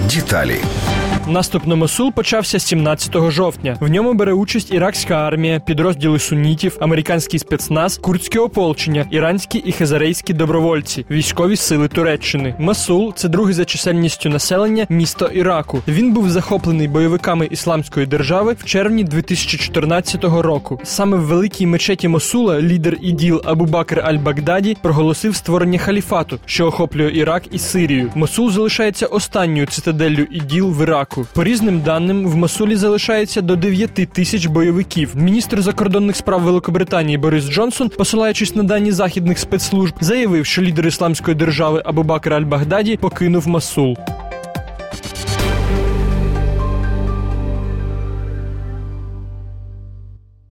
Деталі. Наступ на Мосул почався 17 жовтня. В ньому бере участь іракська армія, підрозділи суннітів, американський спецназ, курдське ополчення, іранські і хазарейські добровольці, військові сили Туреччини. Мосул – це другий за чисельністю населення місто Іраку. Він був захоплений бойовиками Ісламської держави в червні 2014 року. Саме в великій мечеті Мосула лідер ІДІЛ Абу Бакр аль-Багдаді проголосив створення халіфату, що охоплює Ірак і Сирію. Мосул залишається останньою цитаделлю ІДІЛ в Іраку. По різним даним, в Мосулі залишається до 9 тисяч бойовиків. Міністр закордонних справ Великобританії Борис Джонсон, посилаючись на дані західних спецслужб, заявив, що лідер Ісламської держави Абу Бакр аль-Багдаді покинув Мосул.